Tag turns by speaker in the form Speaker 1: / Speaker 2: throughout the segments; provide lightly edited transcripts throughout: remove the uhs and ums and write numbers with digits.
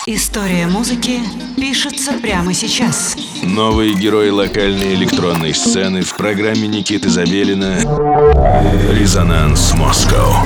Speaker 1: История музыки пишется прямо сейчас.
Speaker 2: Новый герой локальной электронной сцены в программе Никиты Забелина «Резонанс Москва».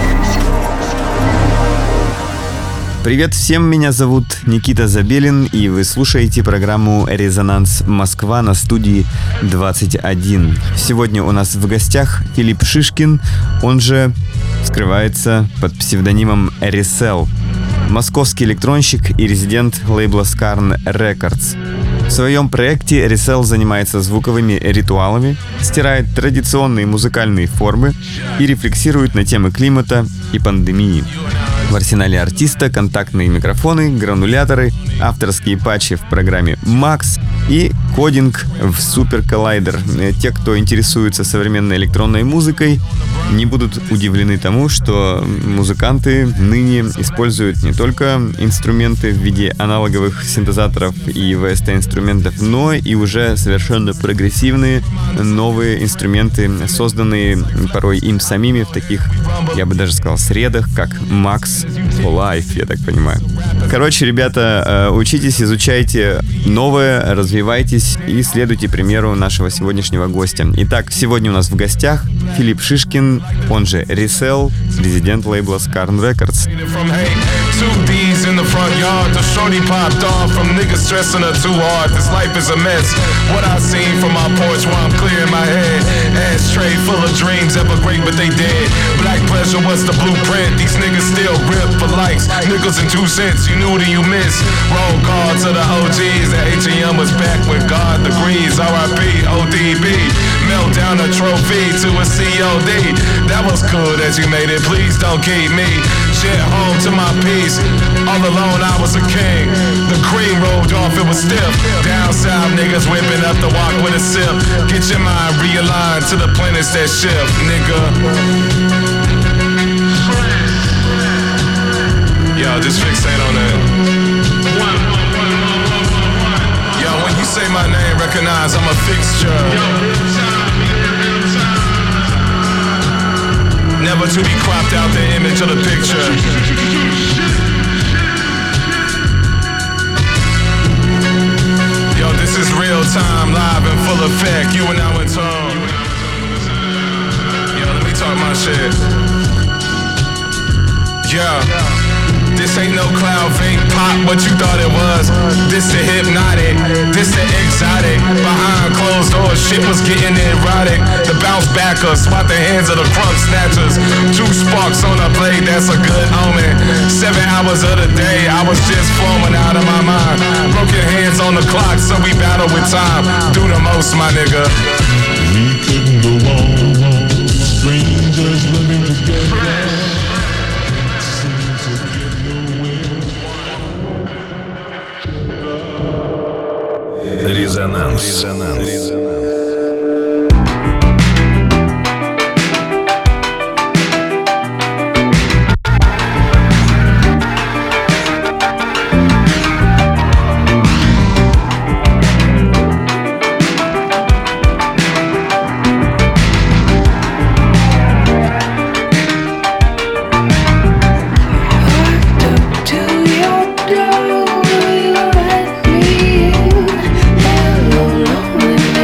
Speaker 3: Привет всем, меня зовут Никита Забелин, и вы слушаете программу «Резонанс Москва» на студии 21. Сегодня у нас в гостях Филипп Шишкин, он же скрывается под псевдонимом Resell, московский электронщик и резидент лейбла Skarn Records. В своем проекте Resell занимается звуковыми ритуалами, стирает традиционные музыкальные формы и рефлексирует на темы климата и пандемии. В арсенале артиста контактные микрофоны, грануляторы, авторские патчи в программе Max и кодинг в Super Collider. Те, кто интересуется современной электронной музыкой, не будут удивлены тому, что музыканты ныне используют не только инструменты в виде аналоговых синтезаторов и VST-инструментов, но и уже совершенно прогрессивные новые инструменты, созданные порой им самими в таких, я бы даже сказал, средах, как Max for Life, я так понимаю. Короче, ребята, учитесь, изучайте новое, развивайтесь и следуйте примеру нашего сегодняшнего гостя. Итак, сегодня у нас в гостях Филипп Шишкин, он же Resell, резидент лейбла Skarn Records.
Speaker 4: Melt down a trophy to a COD. That was cool that you made it. Please don't keep me. Shit home to my peace. All alone I was a king. The cream rolled off, it was stiff. Down south niggas whipping up the walk with a sip. Get your mind realigned to the planets that shift, nigga. Yo, just fixate on that. Yo, when you say my name, recognize I'm a fixture. Never to be cropped out the image of the picture. Yo, this is real time, live in full effect. You and I went home. Yo, let me talk my shit. Yeah. This ain't no cloud fake pop, what you thought it was. This the hypnotic, this the exotic. Behind closed doors, shit was getting erotic. The bounce backer, swat the hands of the crumb snatchers. 2 sparks on a blade, that's a good omen. 7 hours of the day, I was just flowing out of my mind. Broken hands on the clock, so we battle with time. Do the most, my nigga.
Speaker 5: We couldn't go on, strangers living together.
Speaker 2: Резонанс.
Speaker 6: Hello, lonely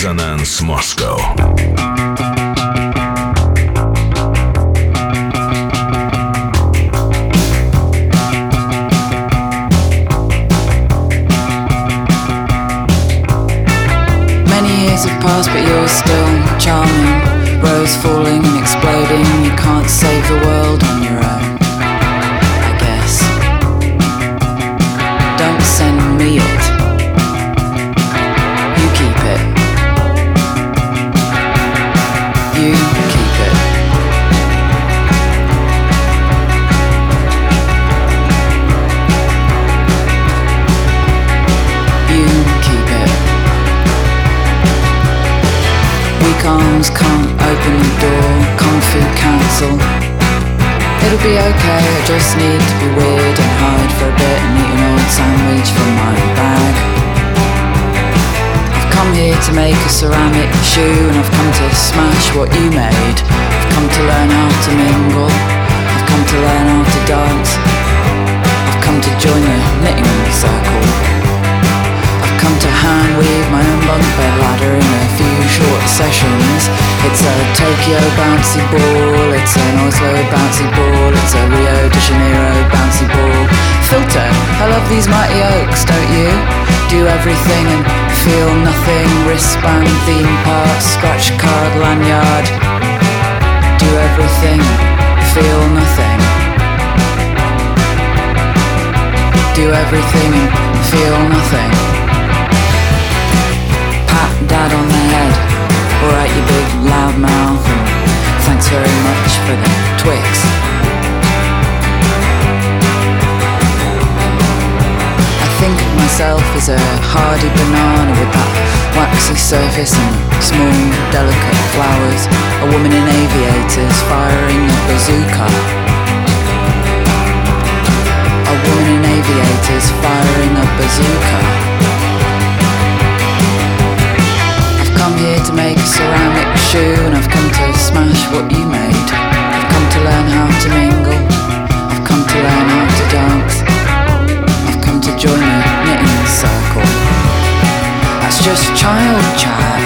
Speaker 2: Резонанс Москва.
Speaker 6: Years have passed, but you're still charming. Rose falling and exploding. You can't save the world on your own, I guess. Don't send me it. You keep it. You keep it. You keep it. Weak arms can't open the door. Kung Fu Council. It'll be okay, I just need to be weird and hide for a bit and eat an old sandwich from my bag. I've come here to make a ceramic shoe and I've come to smash what you made. I've come to learn how to mingle. I've come to learn how to dance. I've come to join the knitting circle. I've come to hand weave my own bunk bed ladder in a few short sessions. It's a Tokyo bouncy ball, it's an Oslo bouncy ball, it's a Rio de Janeiro bouncy ball. Filter, I love these mighty oaks, don't you? Do everything and feel nothing. Wristband, theme park, scratch card, lanyard. Do everything, feel nothing. Do everything and feel nothing. Pat dad on the head. Alright, you big loud mouth, and thanks very much for the Twix. I think of myself as a hardy banana with that waxy surface and small, delicate flowers. A woman in aviators firing a bazooka. A woman in aviators firing a bazooka. I'm here to make a ceramic shoe and I've come to smash what you made. I've come to learn how to mingle. I've come to learn how to dance. I've come to join a knitting circle. That's just child chat.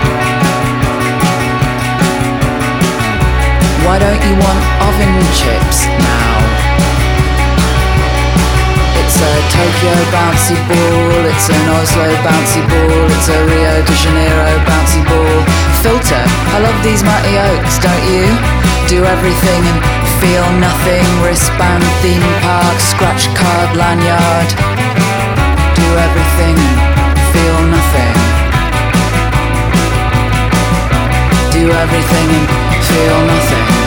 Speaker 6: Why don't you want oven chips now? It's a Tokyo bouncy ball, it's an Oslo bouncy ball, it's a Rio de Janeiro bouncy ball. Filter, I love these mighty oaks, don't you? Do everything and feel nothing. Wristband, theme park, scratch card, lanyard. Do everything and feel nothing. Do everything and feel nothing.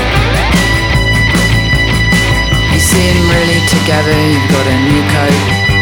Speaker 6: Together, you've got a new coat,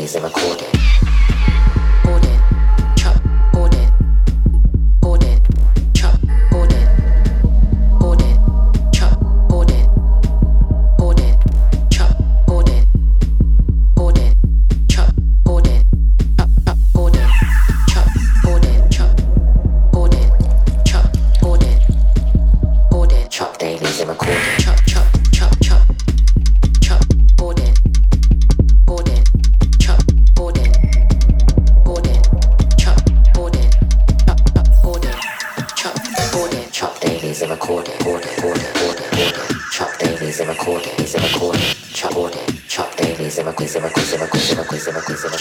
Speaker 7: dailies are recorded. Ordered, chop, ordered. Ordered, chop, ordered. Ordered, chop, ordered. Ordered, chop, ordered. Ordered, chop, ordered. Ordered, chop, ordered. Chop, ordered. Chop, ordered. Ordered, chop dailies are recorded. Chop, chop, chop, chop. Chop, ordered. Ordered, chop, ordered. Ordered, chop, ordered. Ordered, chop, ordered. Chop dailies are recorded. Ordered, ordered, ordered, ordered. Chop dailies are recorded. Is a recorded. Chop, ordered. Chop dailies are recorded. Chop dailies are recorded.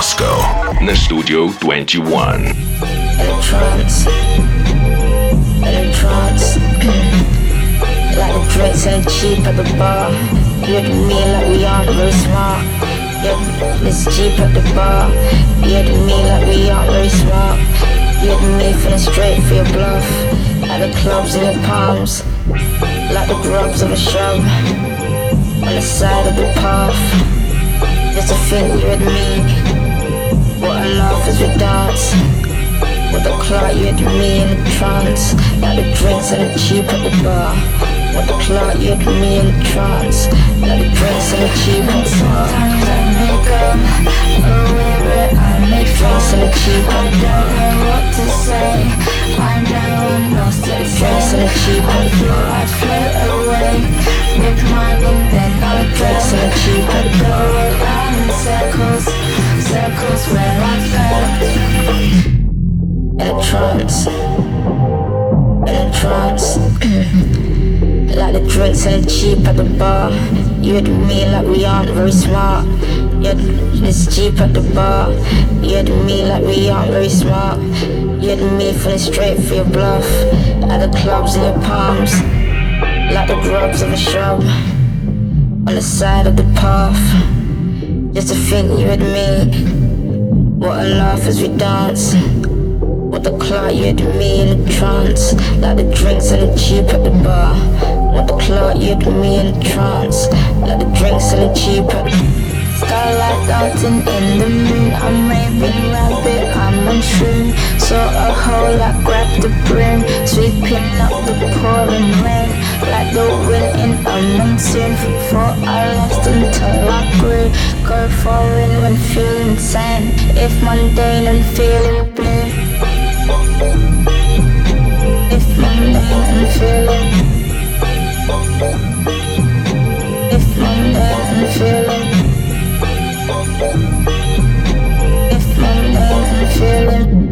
Speaker 2: Moscow на Studio 21.
Speaker 8: Electrons, like the drinks and cheap at the bar. You and me like we aren't very smart. Yeah, it's cheap at the bar. You and me like we aren't very smart. You and me feeling straight for your bluff. At the clubs in your palms, like the grubs of a shrub on the side of the path. Just to think you and me, what a laugh as we dance. With the clock you had me in a trance, like the drinks and the cheap at the bar. With the clock you had me in a trance, like the drinks and the cheap at the bar. Sometimes I make up away where I make drinks and the cheap at the bar. I don't know what to say, I'm down, lost to the drinks and the cheap at the bar. I float away with my and then I drinks and the cheap at the bar. Around in circles, circles where I felt. Electrons, like the drinks and the cheap at the bar. You and me like we aren't very smart. Yeah, it's cheap at the bar. You and me like we aren't very smart. You and me feeling straight for your bluff. At the clubs in your palms, like the grubs of a shrub on the side of the path. Just to think you and me, what a laugh as we dance. With the clock you had me in a trance, like the drinks and the cheap at the bar. With the clock you had me in a trance, like the drinks and the cheap at the starlight dancing in the moon. I'm raving rabbit, I'm on shroom. Saw a hole, I grabbed the brim, sweeping up the pouring rain, like the wind in a monsoon. Before I lost until I grew, go foreign when feeling sane. If mundane and feeling blue. If mundane and feeling, if mundane and feeling, if mundane and feeling.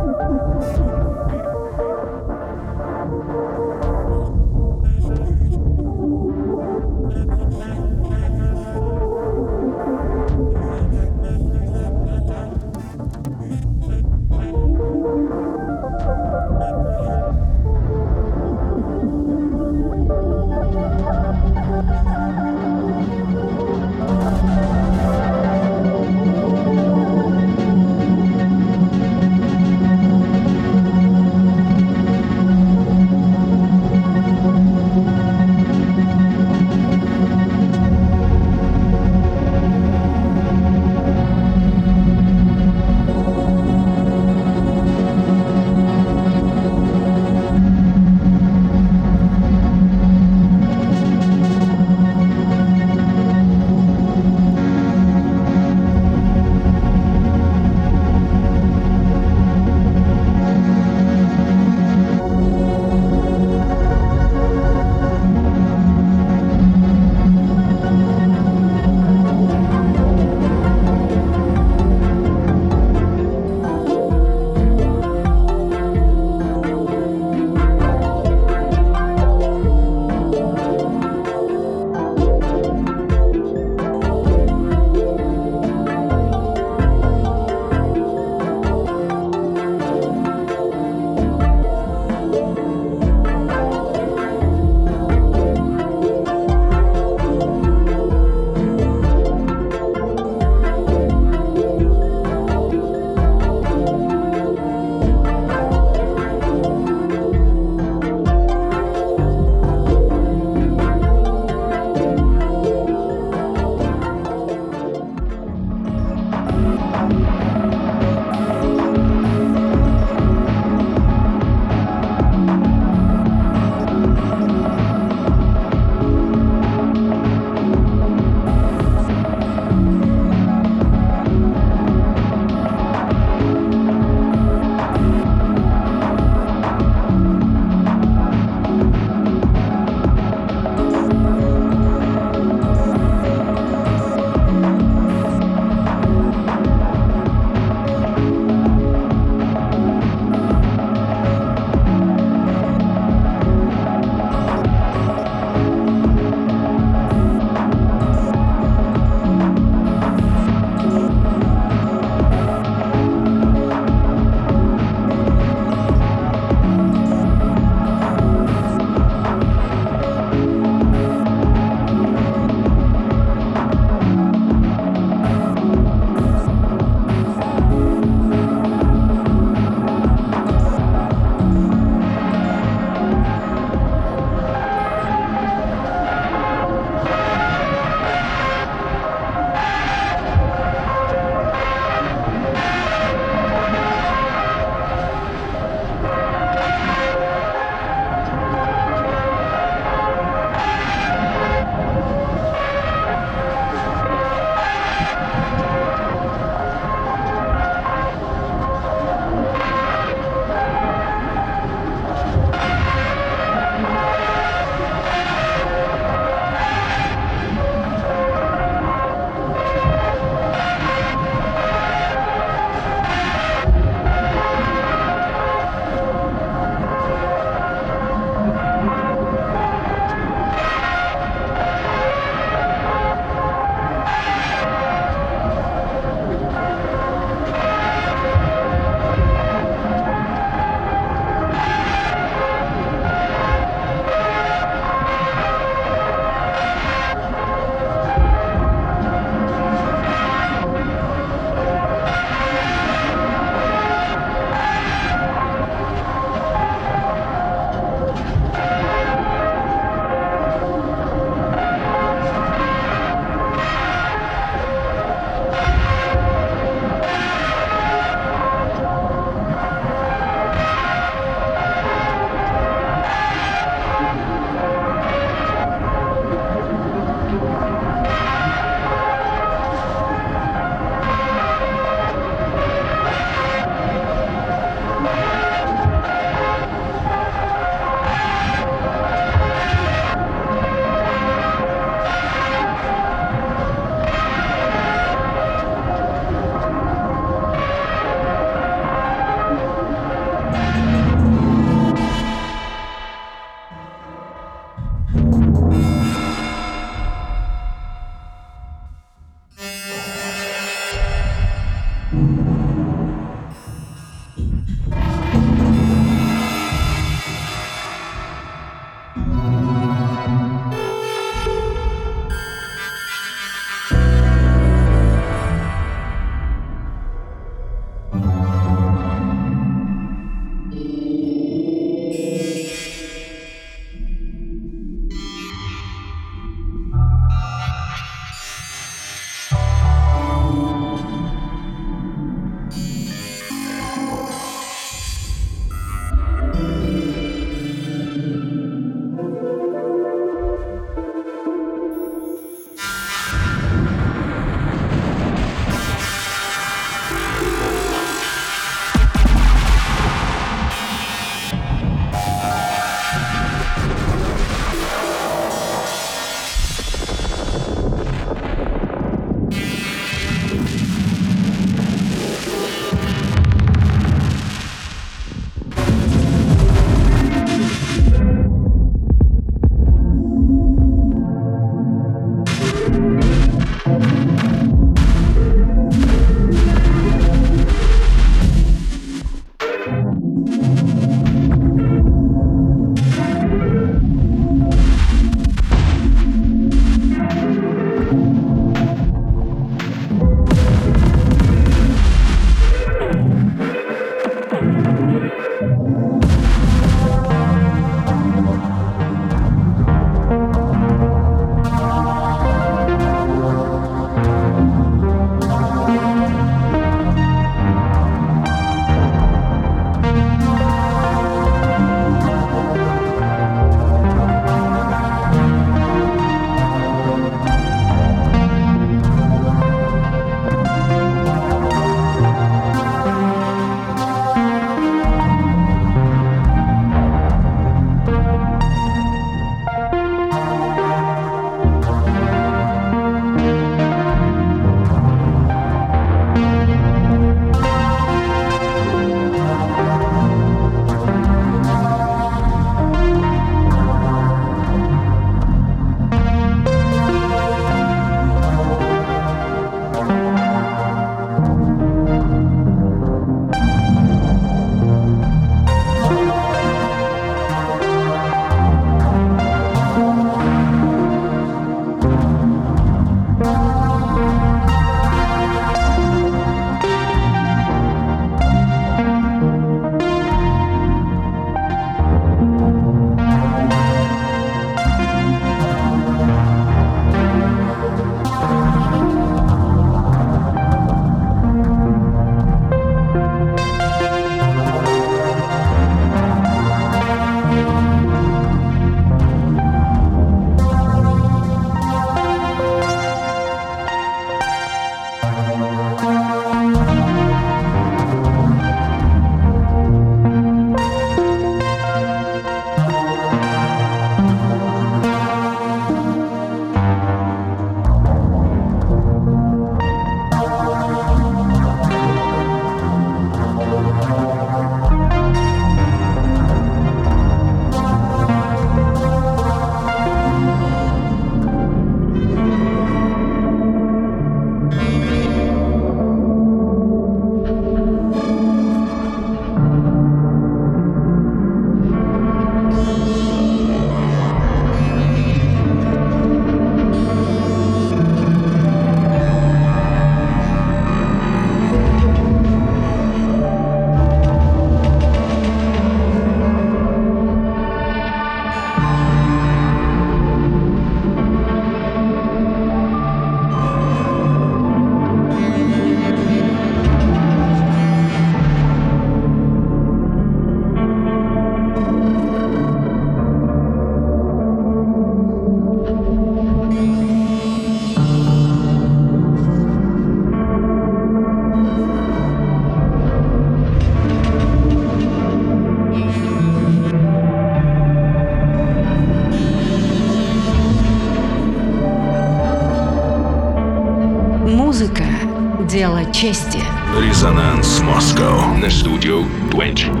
Speaker 1: чести.
Speaker 2: Резонанс Москва на студию 21.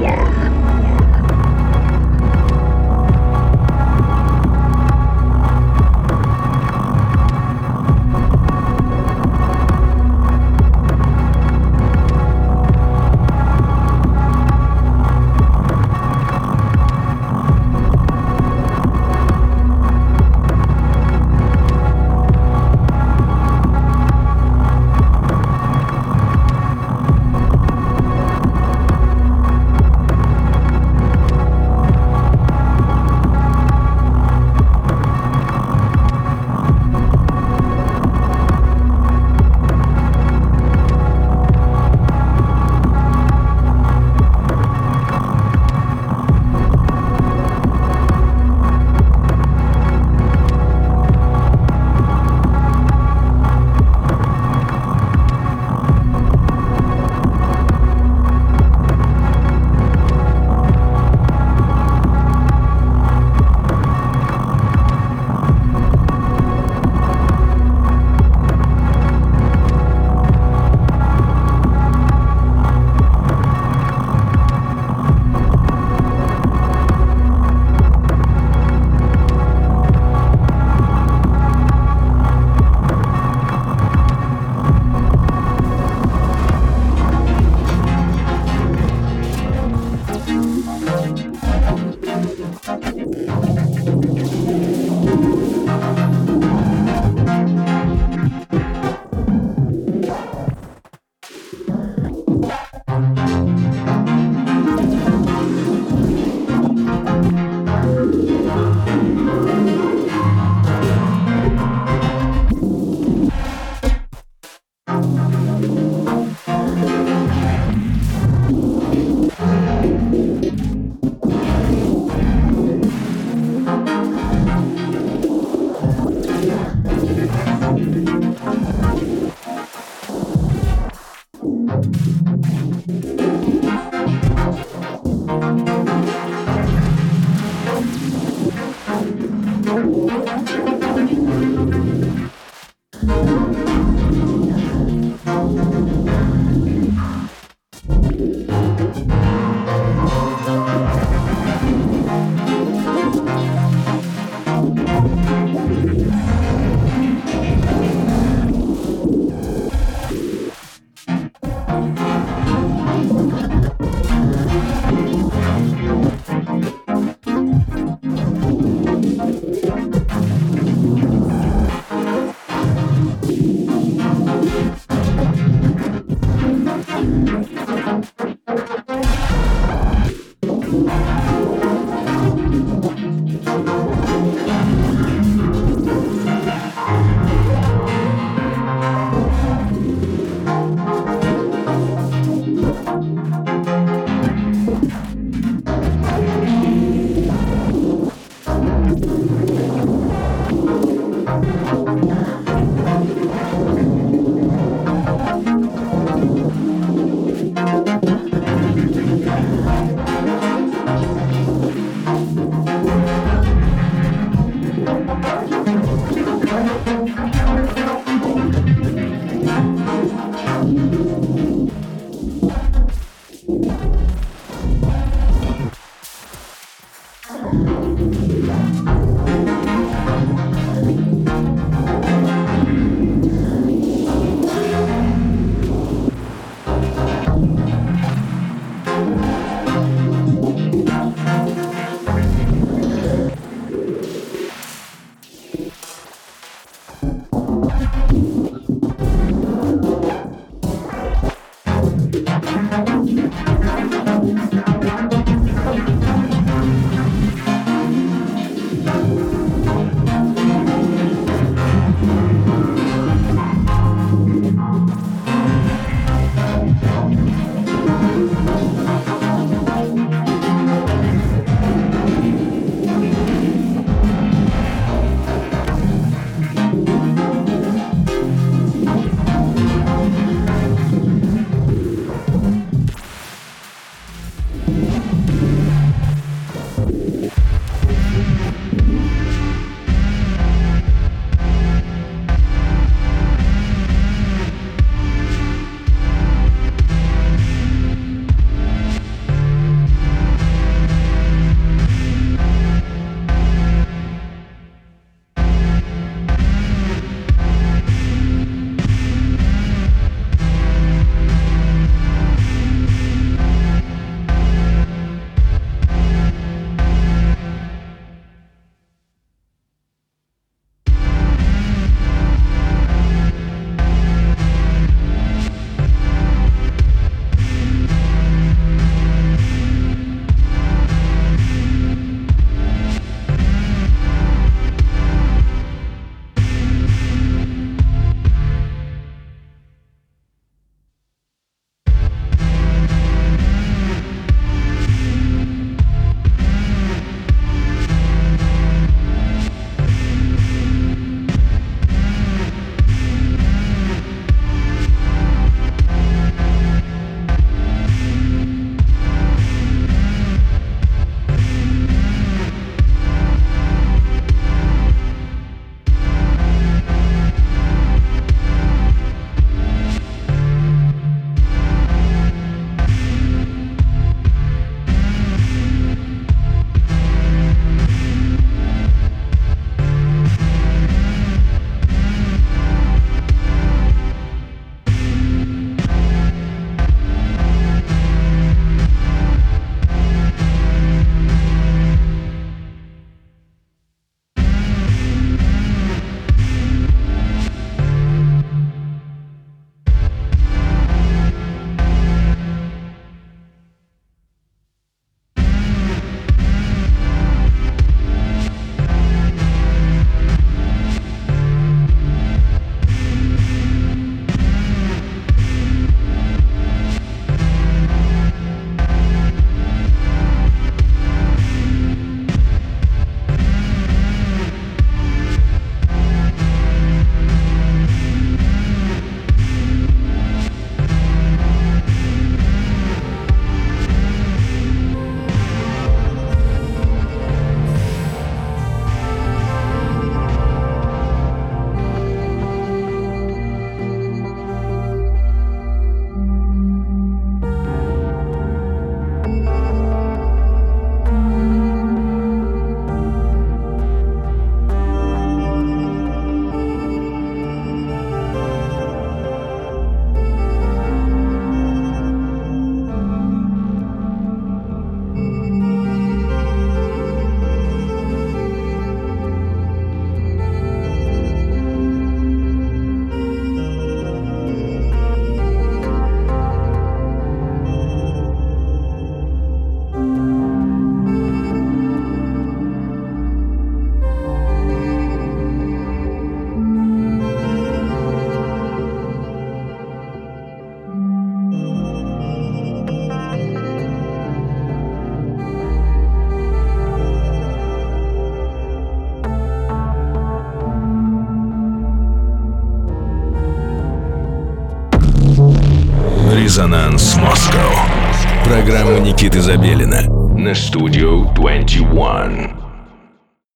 Speaker 2: Резонанс Москва. Программа Никиты Забелина на Studio 21.